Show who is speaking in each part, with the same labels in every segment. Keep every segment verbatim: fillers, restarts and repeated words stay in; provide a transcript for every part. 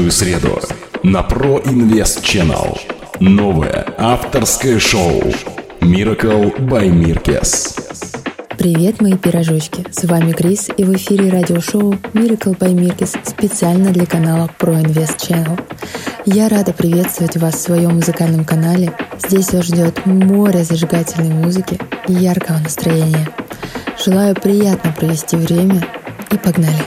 Speaker 1: каждую среду на Pro Invest Channel новое авторское шоу Miracle by Mirkes.
Speaker 2: Привет, мои пирожочки! С вами Крис, и в эфире радиошоу Miracle by Mirkes специально для канала Pro Invest Channel. Я рада приветствовать вас в своем музыкальном канале. Здесь вас ждет море зажигательной музыки и яркого настроения. Желаю приятно провести время и погнали!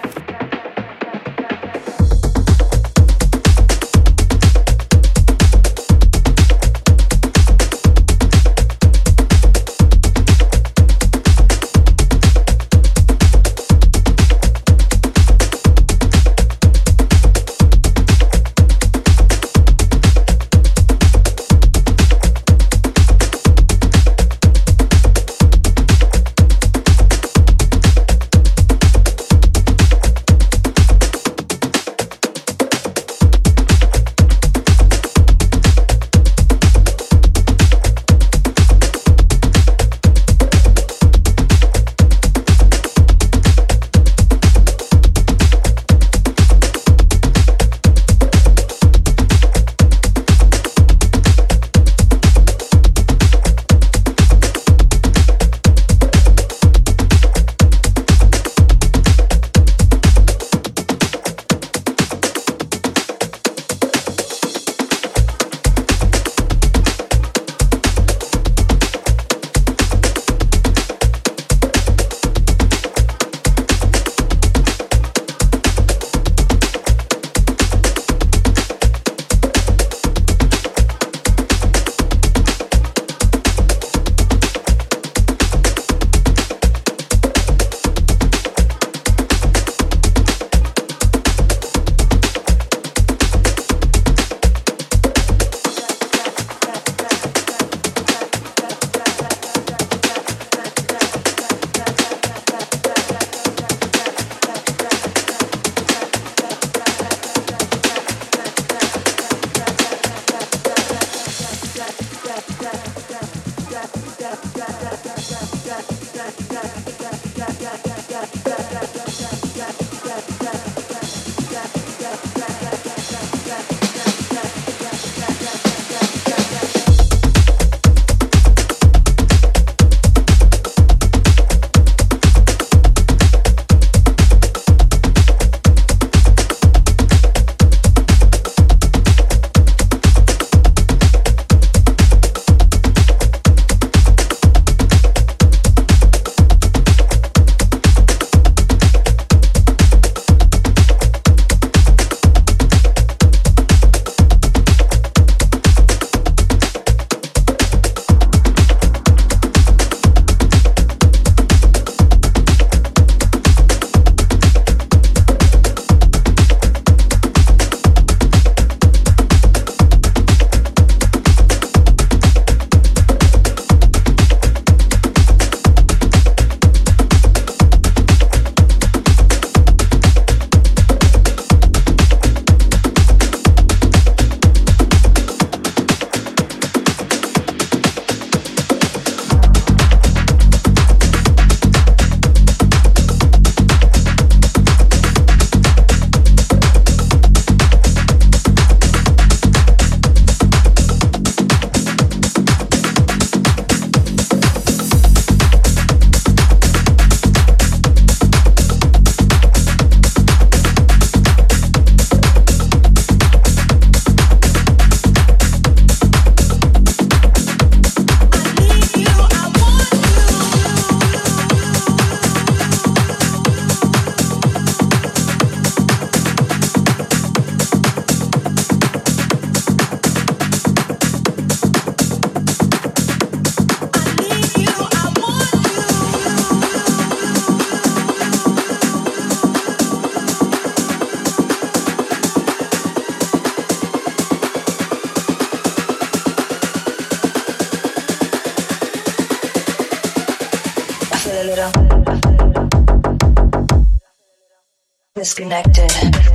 Speaker 3: Disconnected,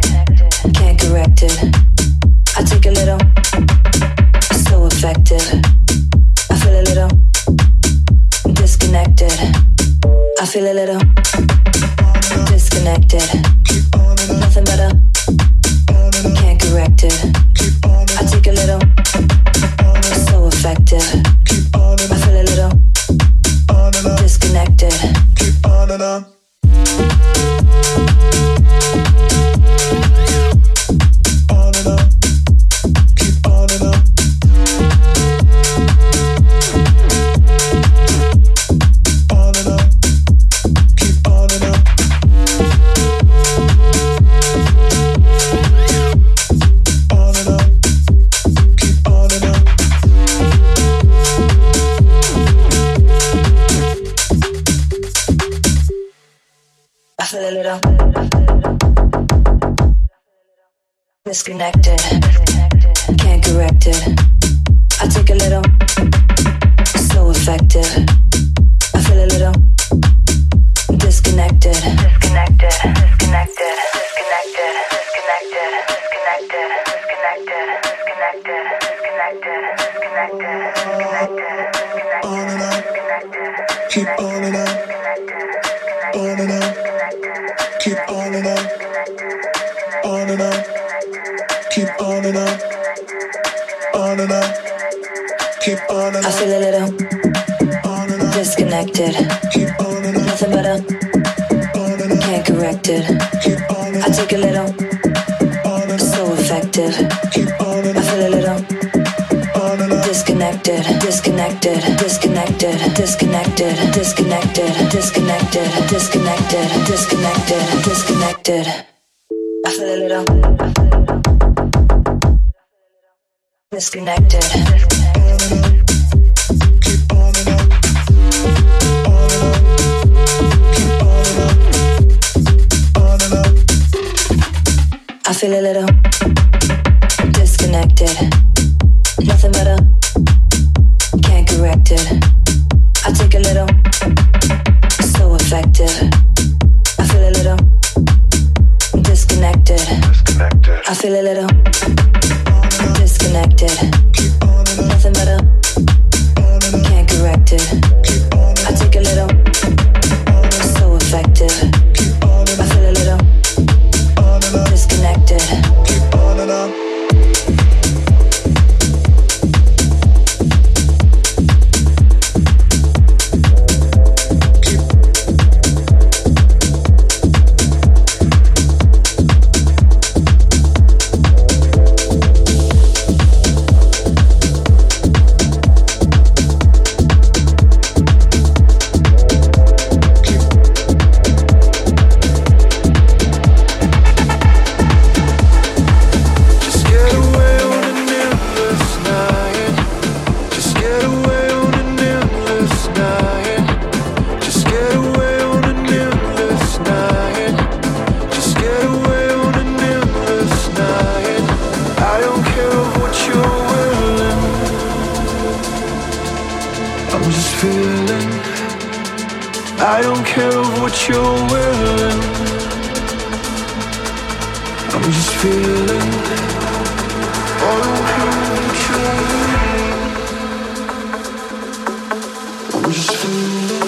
Speaker 3: can't correct it. I take a little, so effective. I feel a little disconnected. I feel a little disconnected. Nothing better. Can't little disconnected, can't correct it. I take a little, so effective. I feel a little disconnected, disconnected, disconnected, disconnected, disconnected, disconnected, disconnected, disconnected, disconnected, disconnected, disconnected, disconnected,
Speaker 4: keep on and on, on and on, keep on and on, on and on, keep on and on, on and on, keep on and on.
Speaker 3: I feel a little disconnected, nothing but a can't correct it. I take a little, so effective. I feel a little disconnected, disconnected, disconnected, disconnected, disconnected, disconnected, disconnected, disconnected, disconnected. I feel a little disconnected. I feel a little disconnected, nothing but a can't correct it. I take a little, so effective. I feel a little disconnected. I feel a little disconnected, nothing but a can't correct it. I take a little, so effective. I feel a little disconnected.
Speaker 4: Keep on and on.
Speaker 5: I don't care of what you're willing. I'm just feeling. I don't care of what you're willing. I'm just feeling.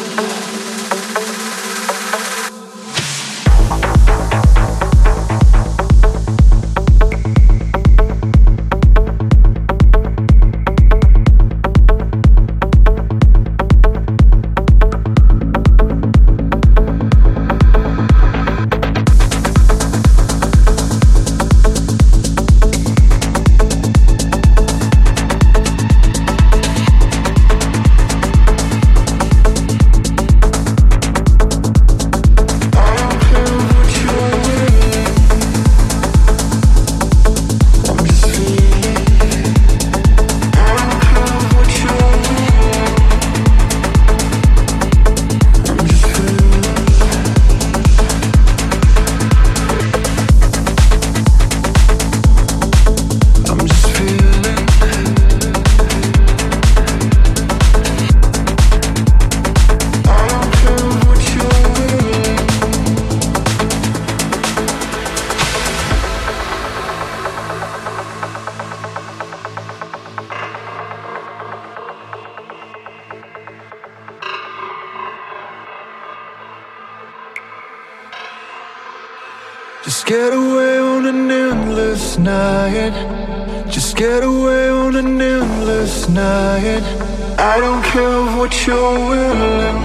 Speaker 5: Just get away on an endless night. Just get away on an endless night. I don't care of what you're willing.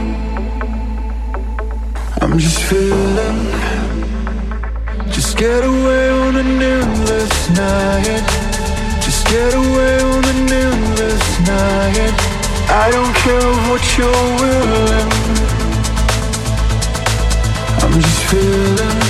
Speaker 5: I'm just feeling. Just get away on an endless night. Just get away on an endless night. I don't care of what you're willing. I'm just feeling.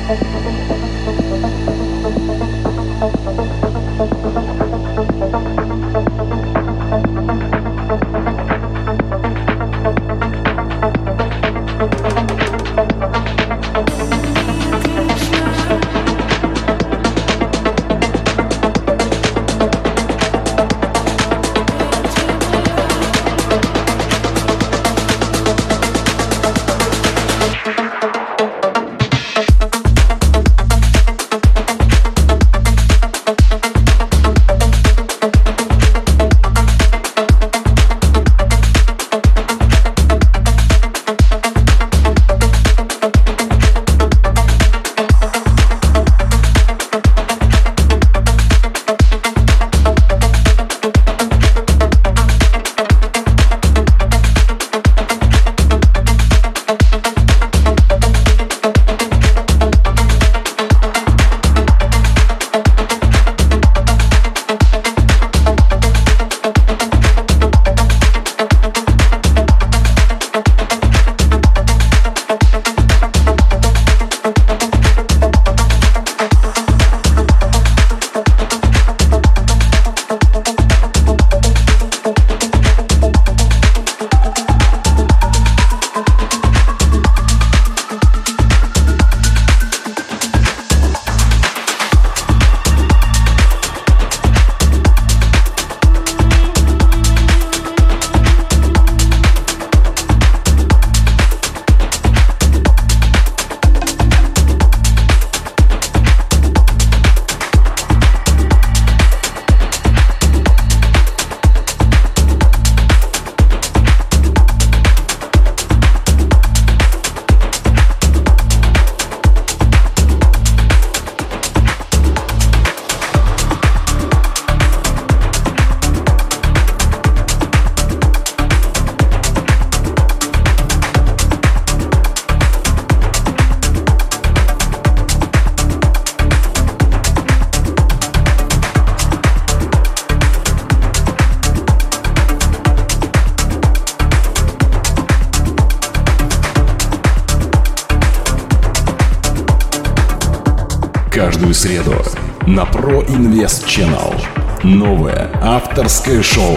Speaker 1: Каждую среду на Pro Invest Channel новое авторское шоу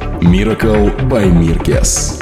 Speaker 1: Miracle by Mirkes.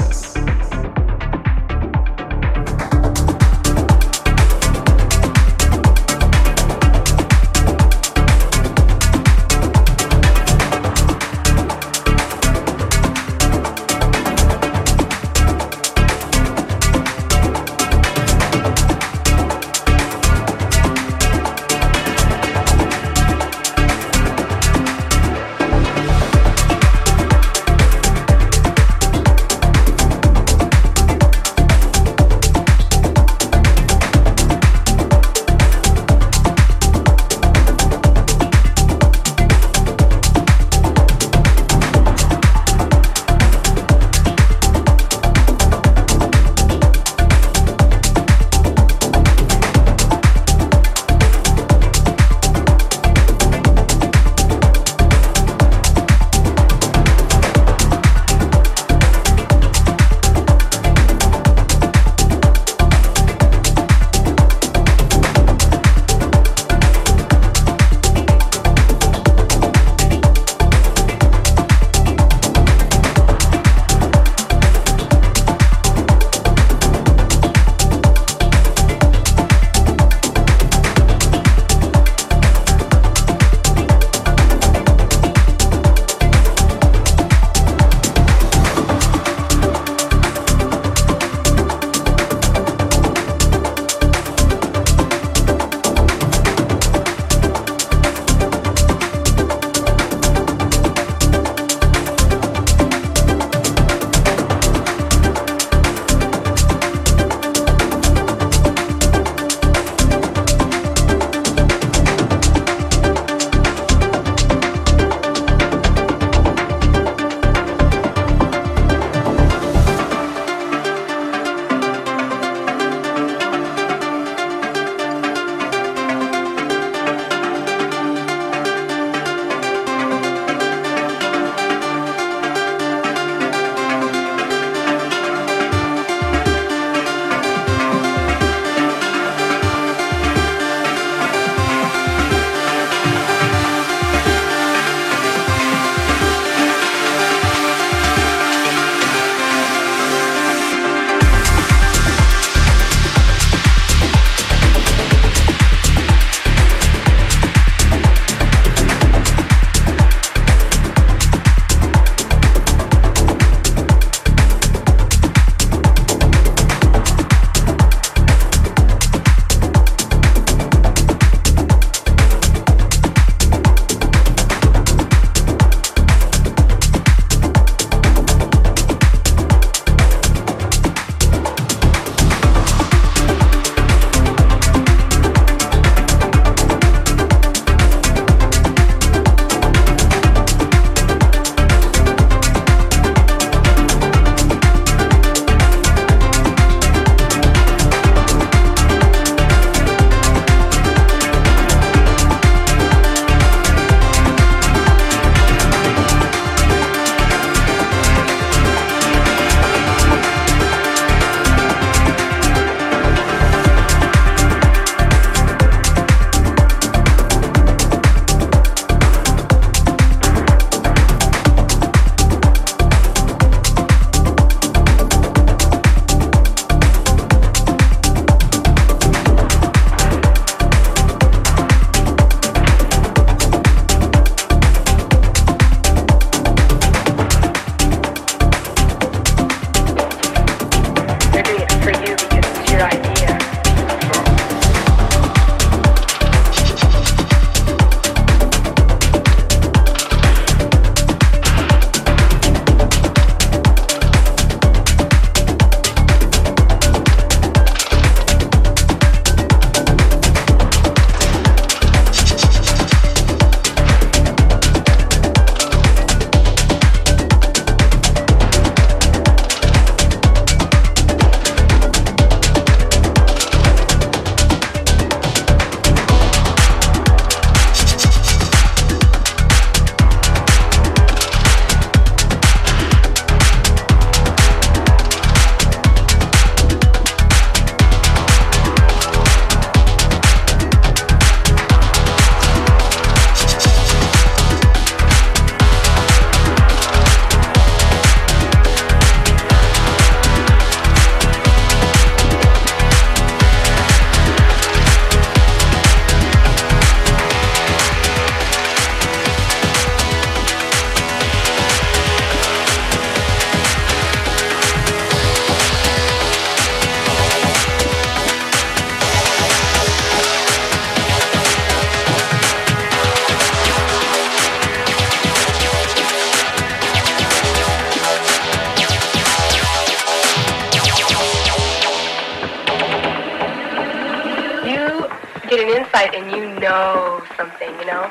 Speaker 6: get an insight and you know something, you know?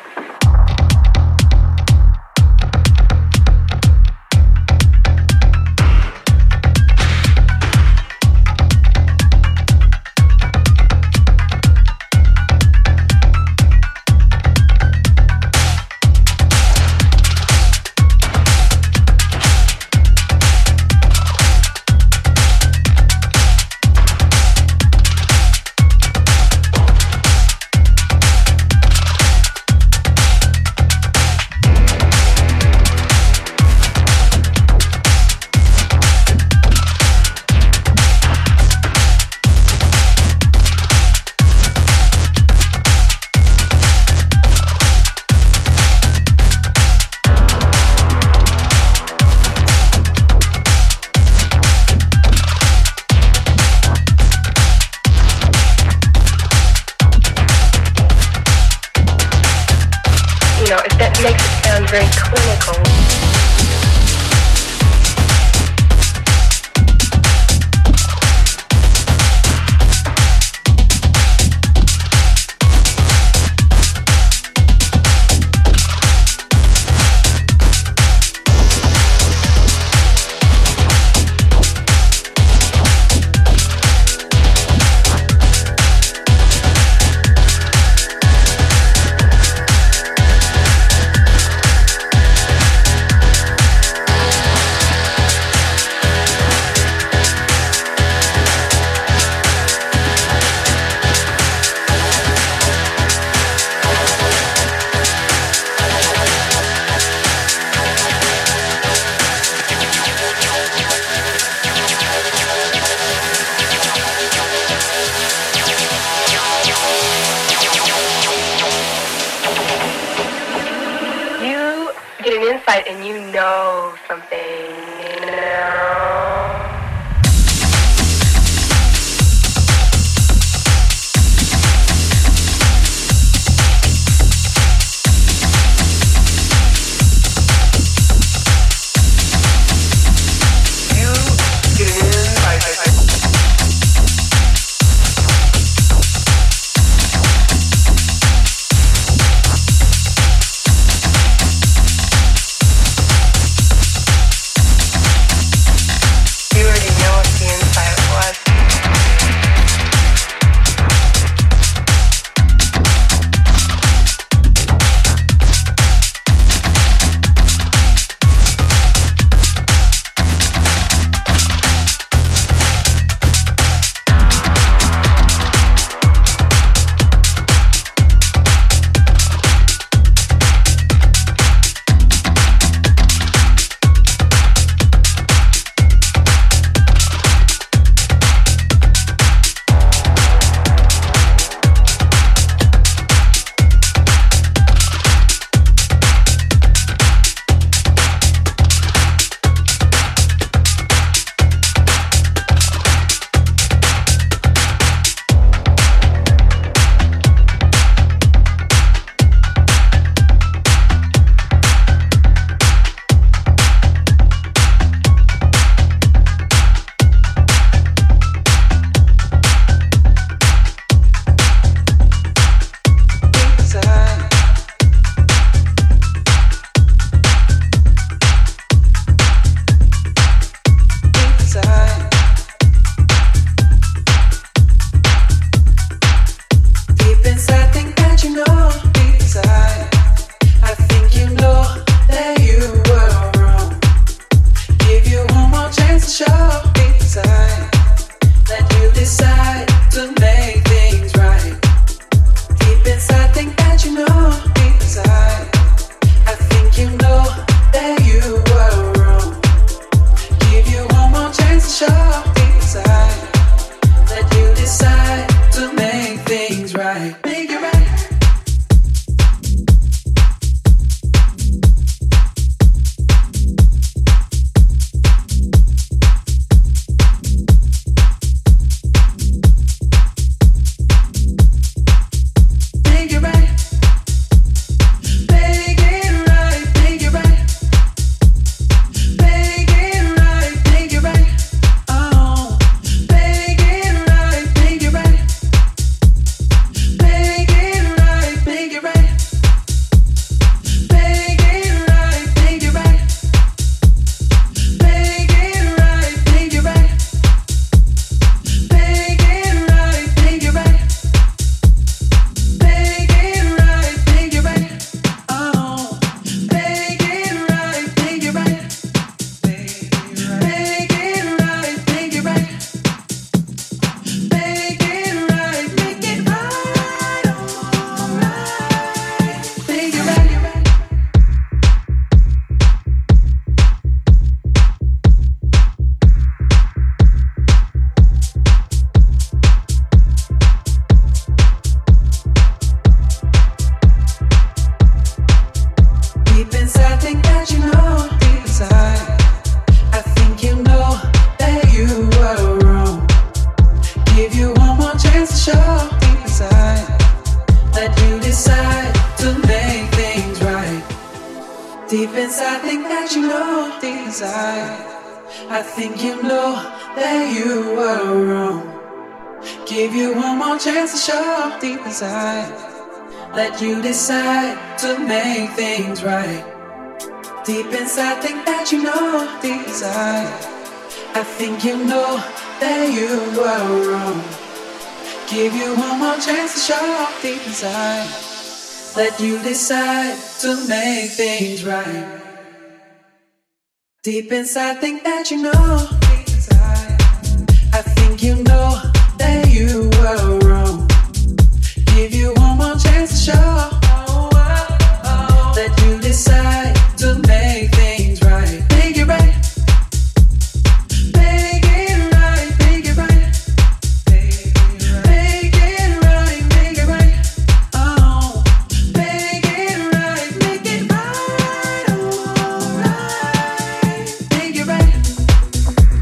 Speaker 6: Very clinical. And you know something, you know?
Speaker 7: inside. I think you know that you were wrong. Give you one more chance to show deep inside. Let you decide to make things right. Deep inside, think that you know deep inside. I think you know that you were wrong. Give you one more chance to show deep inside. Let you decide to make things right. Deep inside, think that you know. Deep inside, I think you know that you were wrong. Give you one more chance to show. Let you decide to make things right. Make it right. Make it right. Make it right. Make it right. Make it right. Oh, make it right. Make it right. Alright. Make it right.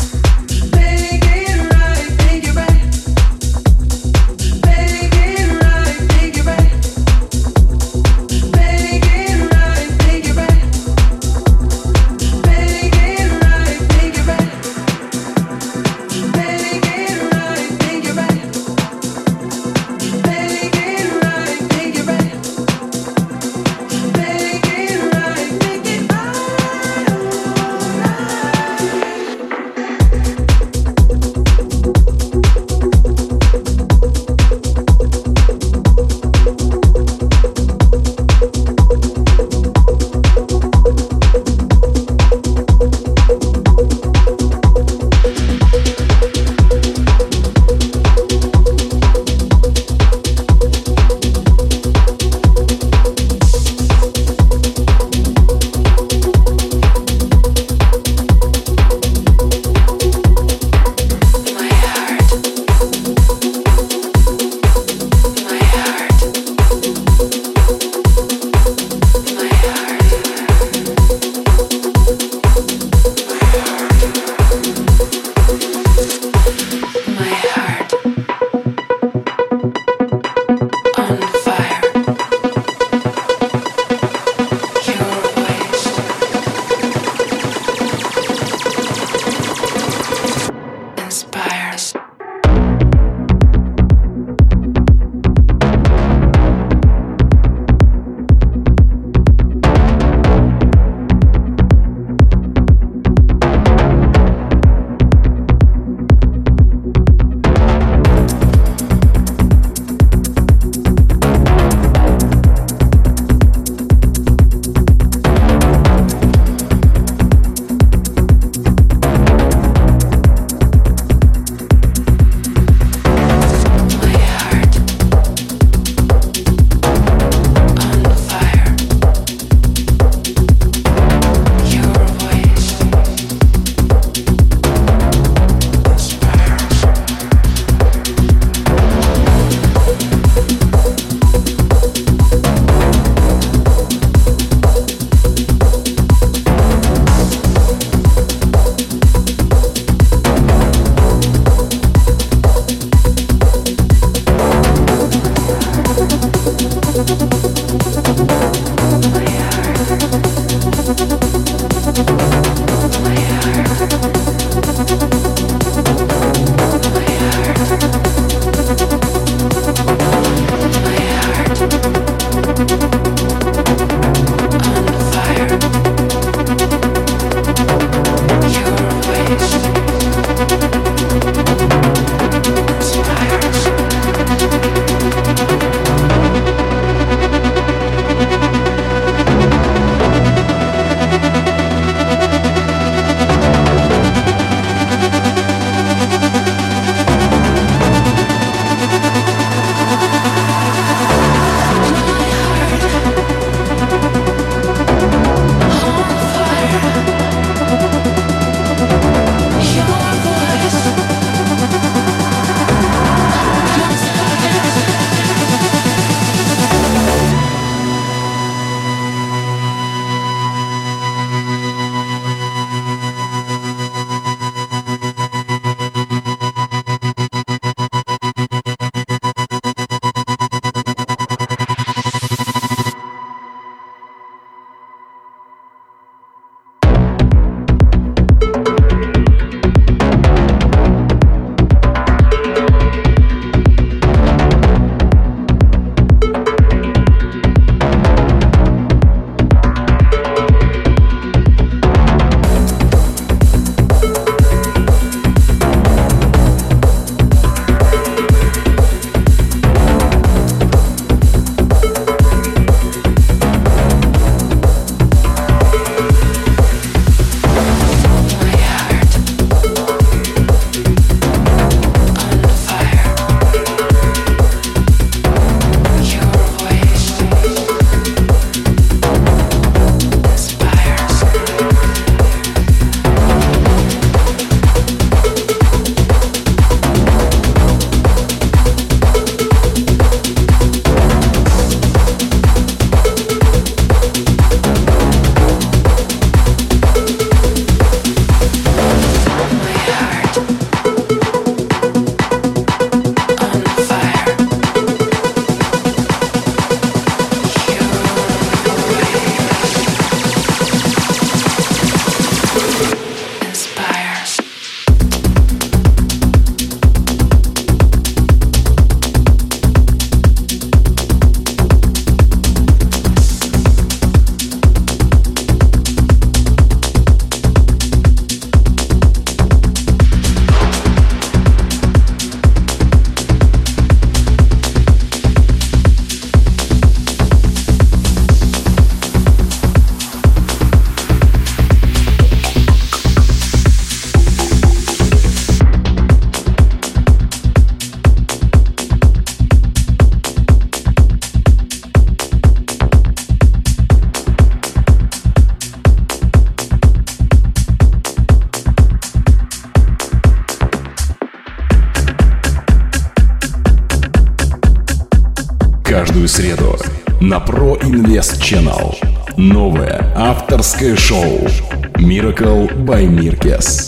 Speaker 1: Каждую среду на Pro Invest Channel. Новое авторское шоу Miracle by Mirkes.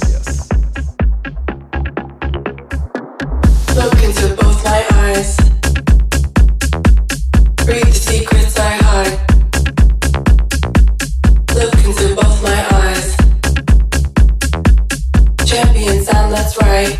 Speaker 8: Look into both my eyes. Read the secrets I hide. Look into both my eyes. Champion sound, that's right.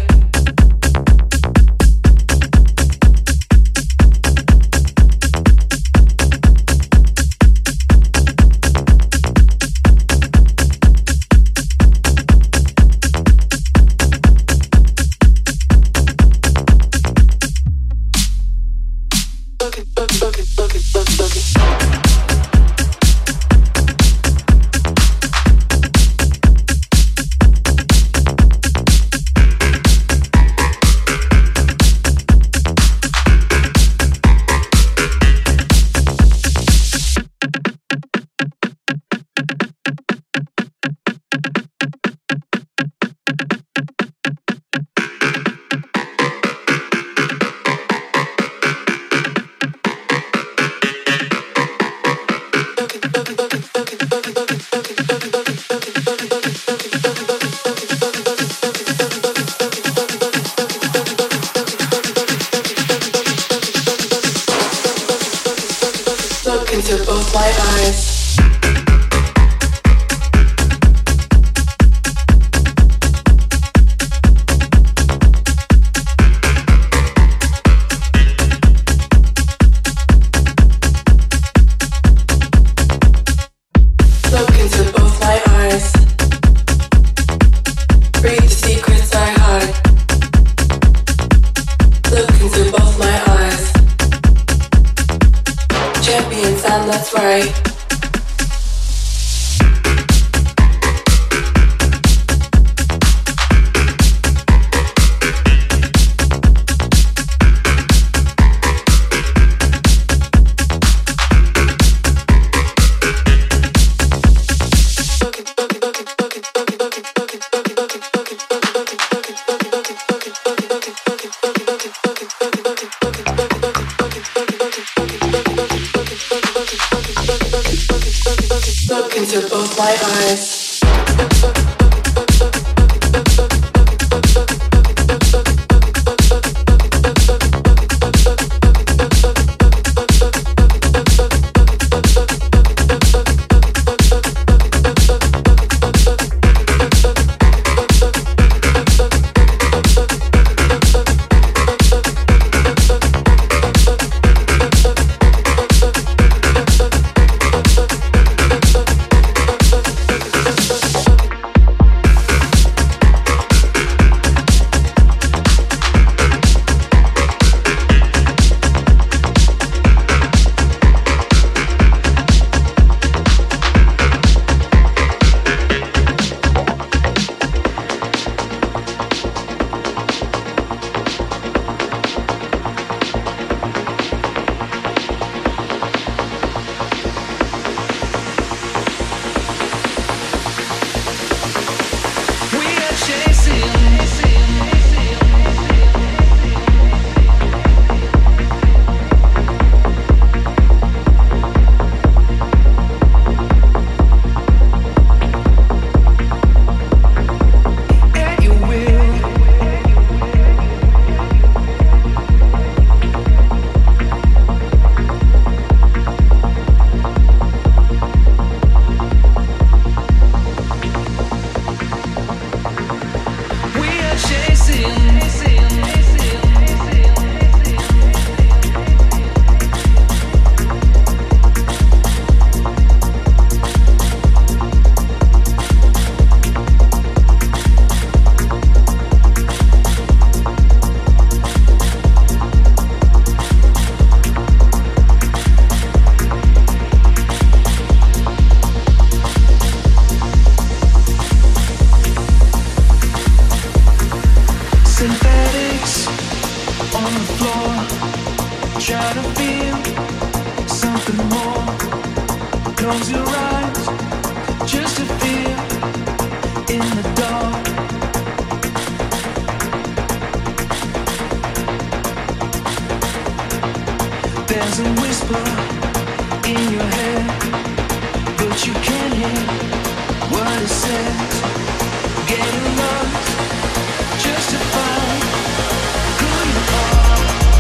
Speaker 7: There's a whisper in your head, but you can't hear what it says. Getting lost just to find who you are.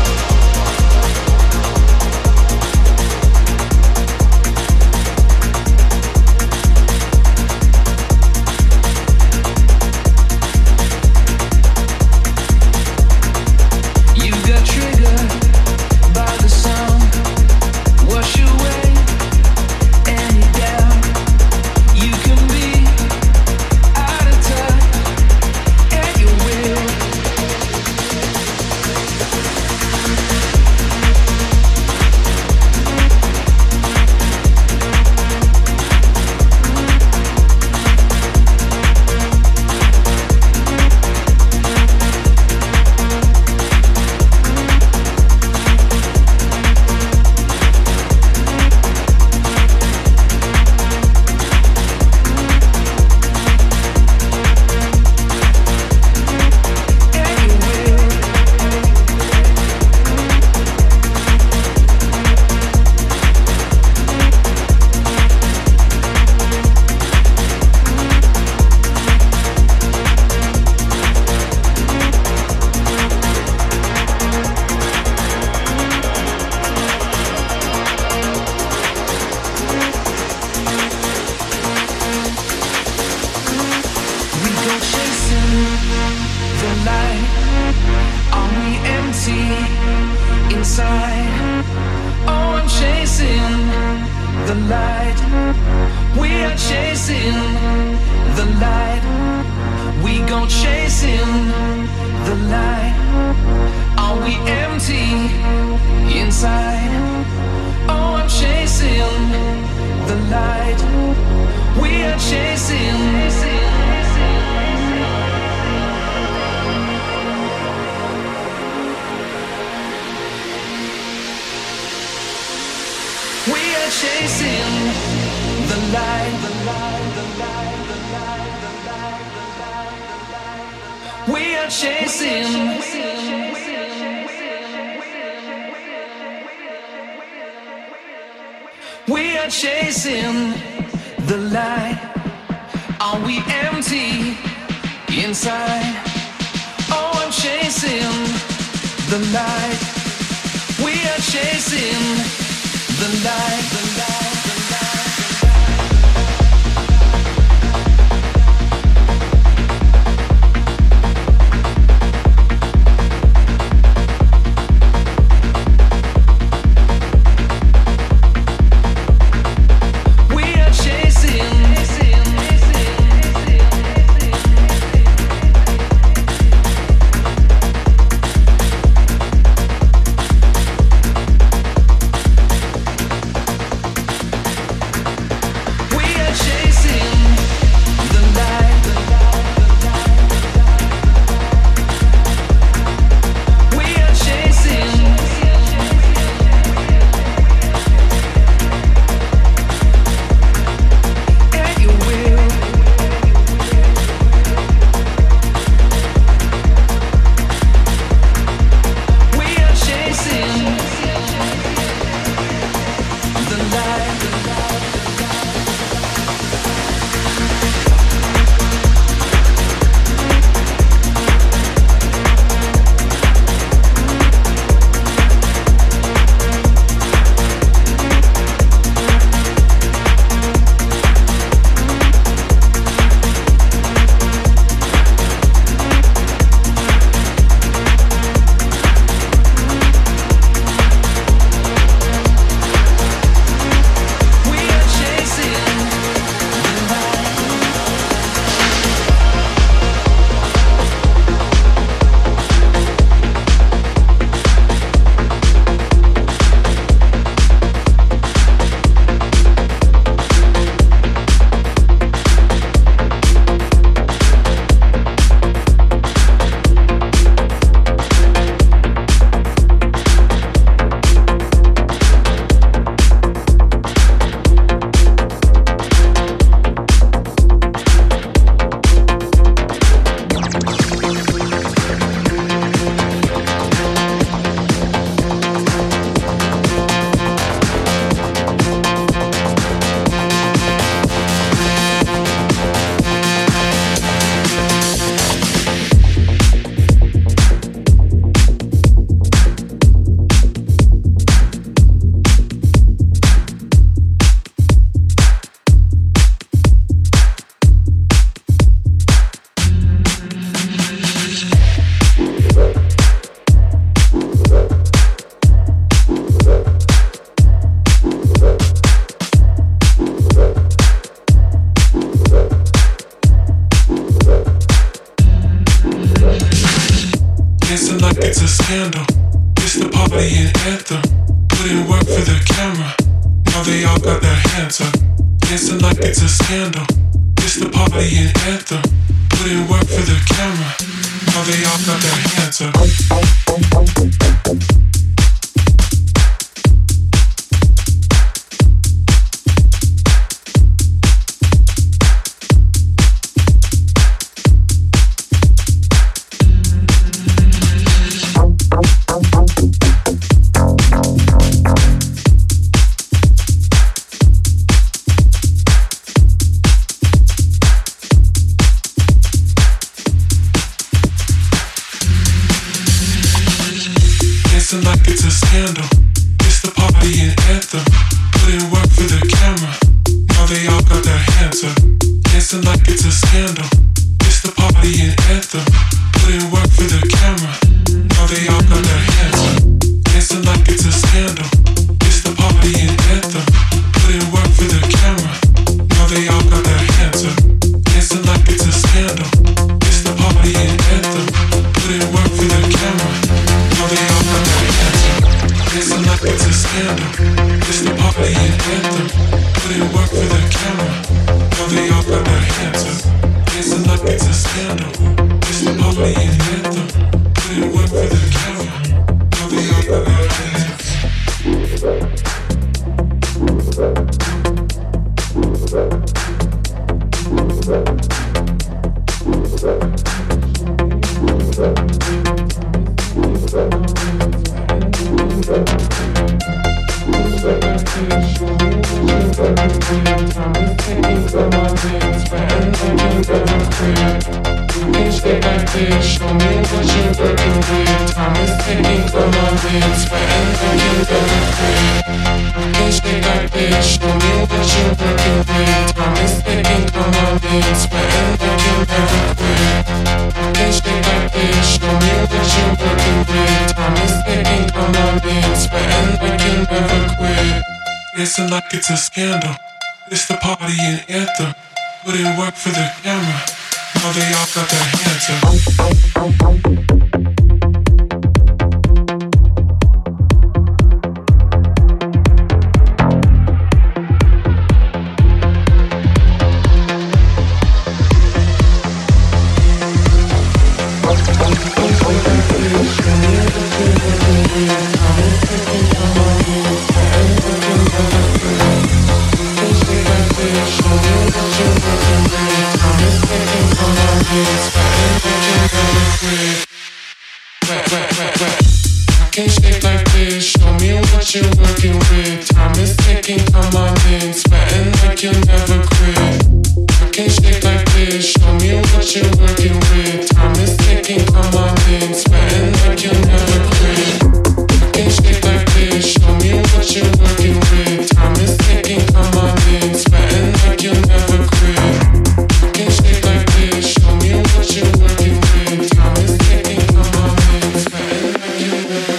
Speaker 7: You got triggered by the sound. Wash away any doubt. You can be out of touch at your will. We are chasing the light. Are we empty inside? Oh, I'm chasing the light. We are chasing the light, the light, the light.
Speaker 9: anthem. Put in work for the camera. Now they all got their hands up, dancing like it's a scandal. It's the party and anthem. Put in work for the camera. Now they all got their hands up. Like it's a scandal. It's the party and anthem. Put in work for the camera. Now they all got their hands up, dancing like it's a scandal. It's the party and anthem. Put in work for the camera. Now they all got their hands up, dancing like it's a scandal. It's the party and anthem. Put in work for the camera. Now they all got their hands up, dancing like it's a scandal. It's the party and anthem. Put in work for the camera. Now they all got their hands up, dancing like it's a scandal. It's the party and anthem. Put in work for the camera. Now they all got their hands up, dancing like it's a scandal. It's the party and anthem. Put in work for the camera. Now they all got their hands up.
Speaker 10: Show me what you're working with. Time is ticking, come on, dance forever, you never quit. Can't stay like this. Show me what you're working with. Time is ticking, come on, dance forever, you never quit. Can't stay like this. Show me what you're working with. Time is ticking, come on, dance forever, you never quit.
Speaker 9: Dancing like it's a scandal. It's the party and anthem. Put in work for the camera. Now they all got their hands up.
Speaker 10: Can't stay like this. Show me what you're working with. Time is ticking, come on, dance, sweating like you'll never quit. I can't stay like this. Show me what you're working with. Time is ticking, come on, dance, sweating like you'll never quit. I can't stay like this. Show me what you're working with. Time is ticking, come on, dance, sweating like you'll never quit. I can't stay like this. Show me what you're working with. Time is ticking, come on, dance, sweating like you'll never quit.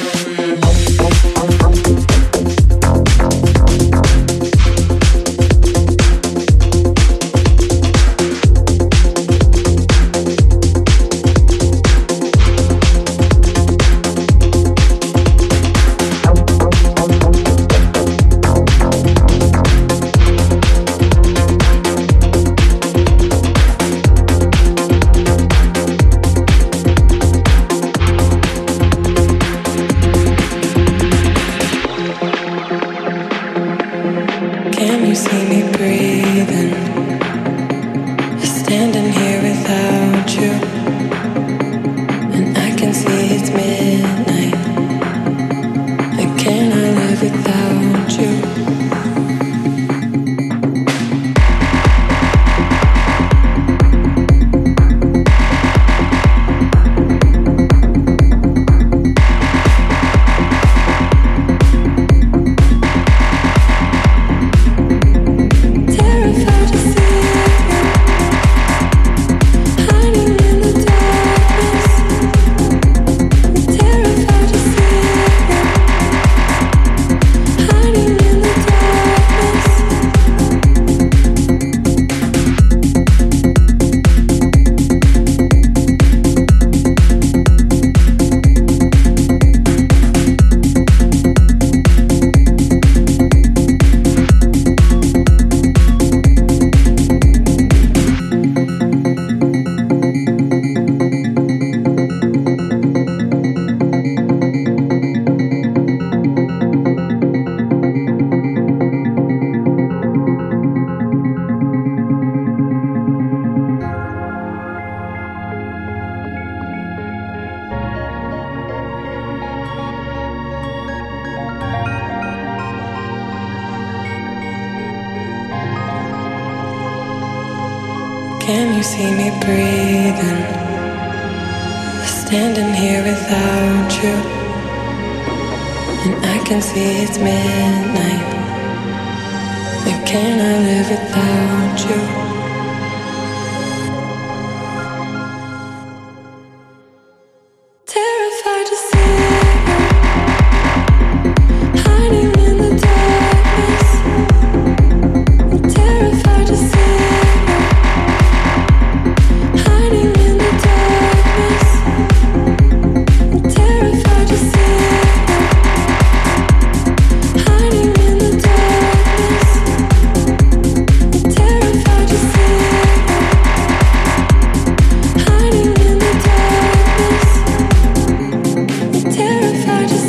Speaker 11: Hiding in the
Speaker 3: Can you see me breathing? Standing here without you, and I can see it's midnight. And can I live without you? Terrified to see you hiding in the darkness. I'm terrified to see you hiding in the darkness. I'm terrified to see you hiding in the darkness. I'm terrified to see you hiding in the darkness. I'm terrified to see.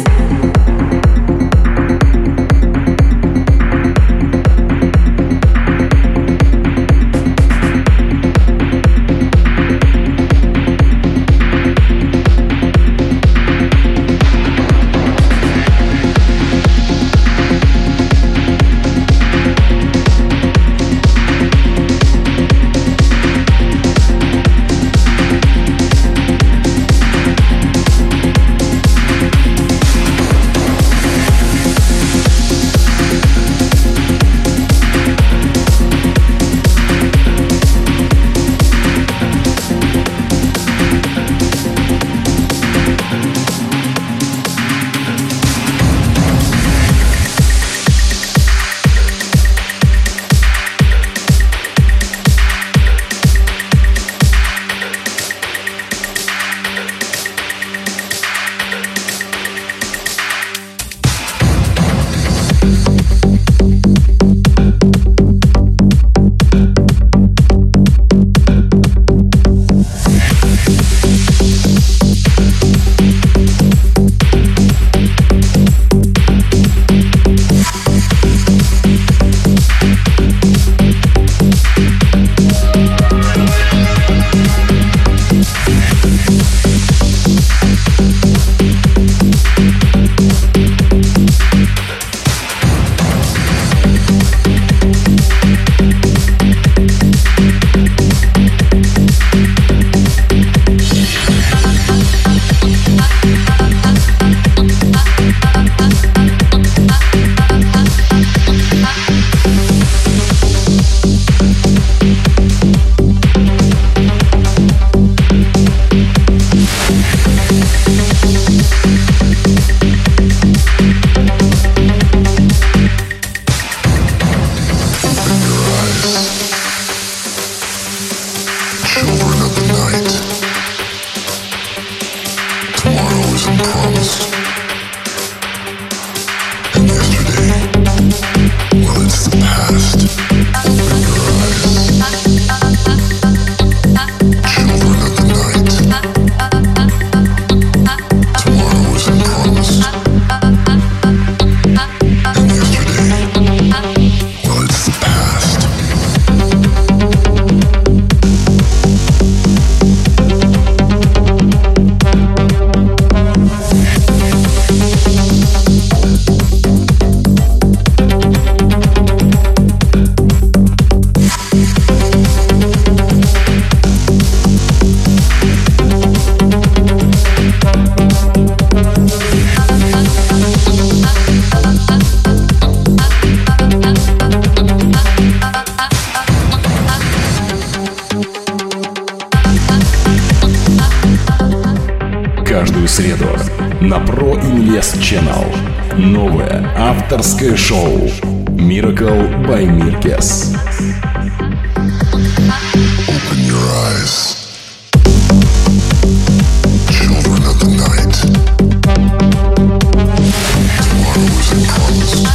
Speaker 1: Каждую среду на Pro Invest Channel новое авторское шоу Miracle by Mirkes.
Speaker 5: Open your eyes. Children of the night. Tomorrow isn't promised.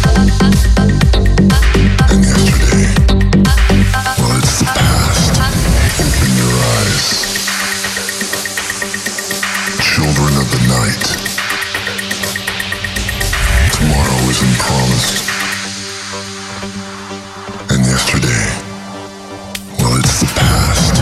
Speaker 5: And yesterday, well, it's the past. Open your eyes. Children of the night. Tomorrow isn't promised. And yesterday, well, it's the past.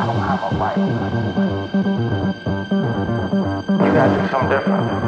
Speaker 11: I don't have a life. You gotta do something different.